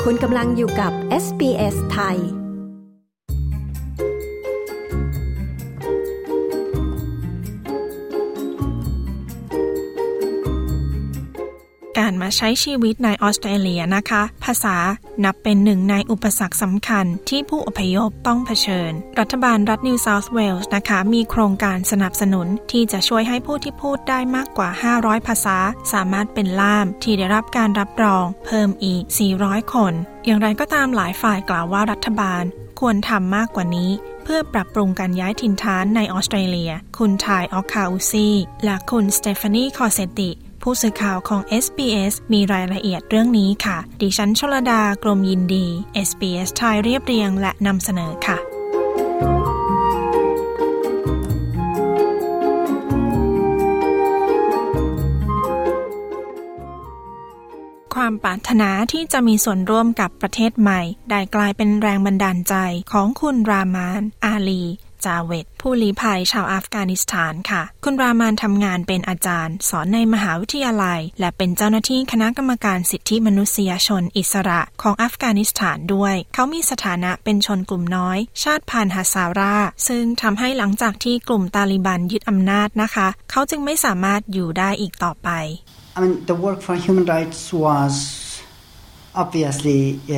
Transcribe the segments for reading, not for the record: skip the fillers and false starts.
คุณกำลังอยู่กับ SBS ไทยการมาใช้ชีวิตในออสเตรเลียนะคะภาษานับเป็นหนึ่งในอุปสรรคสำคัญที่ผู้อพยพต้องเผชิญรัฐบาลรัฐนิวเซาท์เวลส์นะคะมีโครงการสนับสนุนที่จะช่วยให้ผู้ที่พูดได้มากกว่า500ภาษาสามารถเป็นล่ามที่ได้รับการรับรองเพิ่มอีก400คนอย่างไรก็ตามหลายฝ่ายกล่าวว่ารัฐบาลควรทำมากกว่านี้เพื่อปรับปรุงการย้ายถิ่นฐานในออสเตรเลียคุณทายออคคาอูซีและคุณสเตฟานีคอเซติผู้สื่อข่าวของ SBS มีรายละเอียดเรื่องนี้ค่ะดิฉันชลดากรมยินดี SBS ไทยเรียบเรียงและนำเสนอค่ะความปรารถนาที่จะมีส่วนร่วมกับประเทศใหม่ได้กลายเป็นแรงบันดาลใจของคุณรามานอาลีจาเวตผู้ลี้ภัยชาวอัฟกานิสถานค่ะคุณรามานทำงานเป็นอาจารย์สอนในมหาวิทยาลัยและเป็นเจ้าหน้าที่คณะกรรมการสิทธิมนุษยชนอิสระของอัฟกานิสถานด้วยเขามีสถานะเป็นชนกลุ่มน้อยชาติพันธุ์ฮาซาราซึ่งทำให้หลังจากที่กลุ่มตาลิบันยึดอำนาจนะคะเขาจึงไม่สามารถอยู่ได้อีกต่อไป I mean, the work for human rights was obviously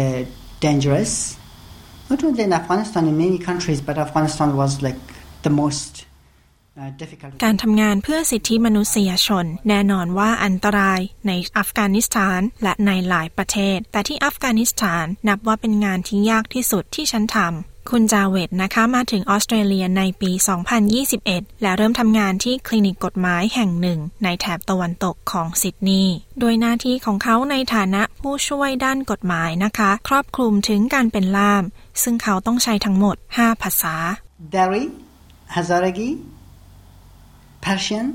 dangerous.Not only in Afghanistan, in many countries, but Afghanistan was like the most difficult. การทำงานเพื่อสิทธิมนุษยชนแน่นอนว่าอันตรายในอัฟกานิสถานและในหลายประเทศแต่ที่อัฟกานิสถานนับว่าเป็นงานที่ยากที่สุดที่ฉันทำคุณจาเวตนะคะมาถึงออสเตรเลียในปี 2021 และเริ่มทำงานที่คลินิกกฎหมายแห่งหนึ่งในแถบตะวันตกของซิดนีย์โดยหน้าที่ของเขาในฐานะผู้ช่วยด้านกฎหมายนะคะครอบคลุมถึงการเป็นล่ามซึ่งเขาต้องใช้ทั้งหมด5ภาษา Dari, Hazaragi, Persian,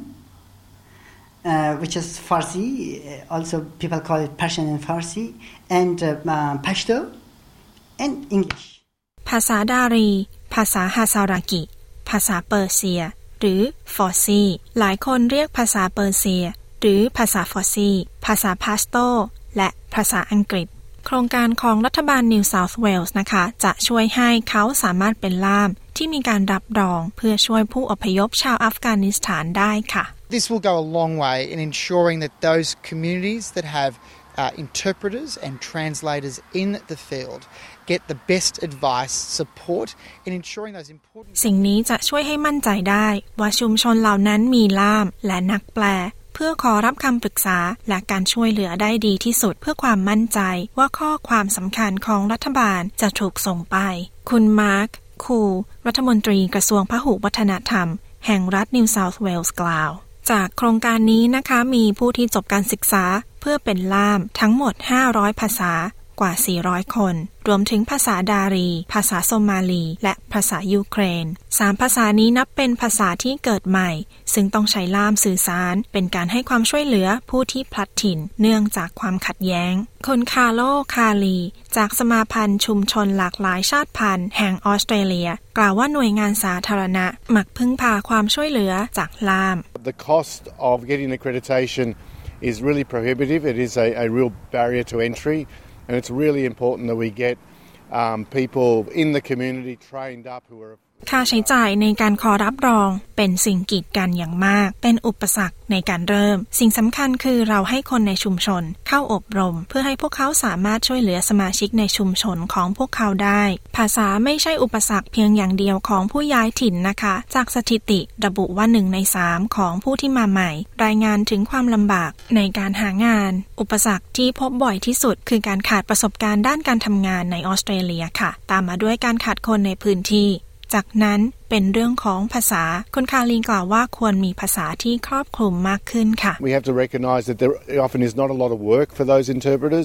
which is Farsi, also people call it Persian and Farsi, and Pashto, and English. ภาษาดารีภาษาฮาซารากิภาษาเปอร์เซียหรือฟอร์ซีหลายคนเรียกภาษาเปอร์เซียหรือภาษาฟอร์ซีภาษาพาสโตและภาษาอังกฤษโครงการของรัฐบาลนิวเซาท์เวลส์นะคะจะช่วยให้เขาสามารถเป็นล่ามที่มีการรับรองเพื่อช่วยผู้อพยพชาวอัฟกานิสถานได้ค่ะ This will go a long way in ensuring that those communities that have interpreters and translators in the field get the best advice, support in ensuring those important สิ่งนี้จะช่วยให้มั่นใจได้ว่าชุมชนเหล่านั้นมีล่ามและนักแปลเพื่อขอรับคำปรึกษาและการช่วยเหลือได้ดีที่สุดเพื่อความมั่นใจว่าข้อความสำคัญของรัฐบาลจะถูกส่งไปคุณมาร์คคูรัฐมนตรีกระทรวงพหุวัฒนธรรมแห่งรัฐนิวเซาท์เวลส์กล่าวจากโครงการนี้นะคะมีผู้ที่จบการศึกษาเพื่อเป็นล่ามทั้งหมด500ภาษากว่า400คนรวมถึงภาษาดารีภาษาโซมาลีและภาษายูเครน3ภาษานี้นับเป็นภาษาที่เกิดใหม่ซึ่งต้องใช้ล่ามสื่อสารเป็นการให้ความช่วยเหลือผู้ที่พลัดถิ่นเนื่องจากความขัดแย้งคุณคาร์โลคาลีจากสมาพันธ์ชุมชนหลากหลายชาติพันธุ์แห่งออสเตรเลียกล่าวว่าหน่วยงานสาธารณะมักพึ่งพาความช่วยเหลือจากล่าม The cost of getting accreditation is really prohibitive. It is a real barrier to entry.And it's really important that we get people in the community trained up who are ค่าใช้จ่ายในการขอรับรองเป็นสิ่งกีดกันอย่างมากเป็นอุปสรรคในการเริ่มสิ่งสำคัญคือเราให้คนในชุมชนเข้าอบรมเพื่อให้พวกเขาสามารถช่วยเหลือสมาชิกในชุมชนของพวกเขาได้ภาษาไม่ใช่อุปสรรคเพียงอย่างเดียวของผู้ย้ายถิ่นนะคะจากสถิติระบุว่า1ใน3ของผู้ที่มาใหม่รายงานถึงความลำบากในการหางานอุปสรรคที่พบบ่อยที่สุดคือการขาดประสบการณ์ด้านการทำงานในออสเตรเลียค่ะตามมาด้วยการขาดคนในพื้นที่จากนั้นเป็นเรื่องของภาษาคุณคาลีกล่าวว่าควรมีภาษาที่ครอบคลุมมากขึ้นค่ะ We have to recognize that there often is not a lot of work for those interpreters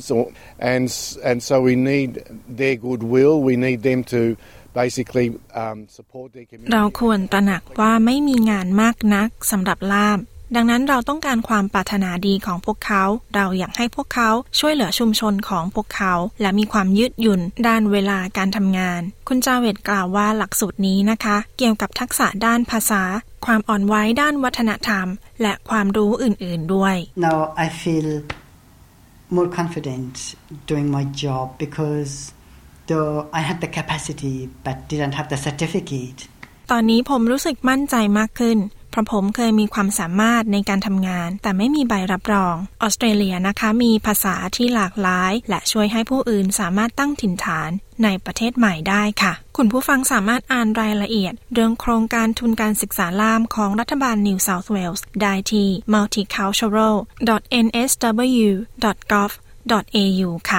and so we need their goodwill we need them to basically support their community เราควรตระหนักว่าไม่มีงานมากนักสำหรับล่ามดังนั้นเราต้องการความปรารถนาดีของพวกเขาเราอยากให้พวกเขาช่วยเหลือชุมชนของพวกเขาและมีความยืดหยุ่นด้านเวลาการทำงานคุณจาเวตกล่าวว่าหลักสูตรนี้นะคะเกี่ยวกับทักษะด้านภาษาความอ่อนไหวด้านวัฒนธรรมและความรู้อื่นๆด้วย Now I feel more confident doing my job because though I had the capacity but didn't have the certificate. ตอนนี้ผมรู้สึกมั่นใจมากขึ้นเพราะผมเคยมีความสามารถในการทำงานแต่ไม่มีใบรับรองออสเตรเลียนะคะมีภาษาที่หลากหลายและช่วยให้ผู้อื่นสามารถตั้งถิ่นฐานในประเทศใหม่ได้ค่ะคุณผู้ฟังสามารถอ่านรายละเอียดเรื่องโครงการทุนการศึกษาล่ามของรัฐบาล New South Wales ได้ที่ multicultural.nsw.gov.au ค่ะ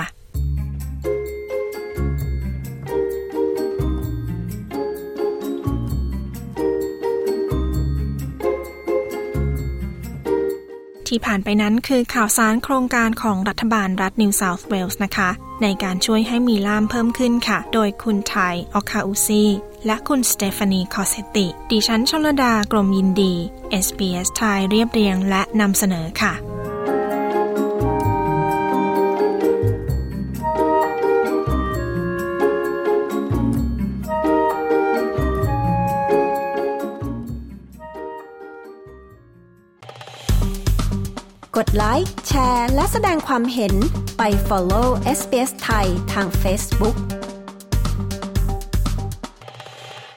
ที่ผ่านไปนั้นคือข่าวสารโครงการของรัฐบาลรัฐ New South Wales นะคะในการช่วยให้มีล่ามเพิ่มขึ้นค่ะโดยคุณไทยออคาอูซีและคุณสเตฟานีคอเซติดิฉันชลดากรมยินดี SBS ไทยเรียบเรียงและนำเสนอค่ะกดไลค์แชร์และแสดงความเห็นไป follow SBS ไทยทาง Facebook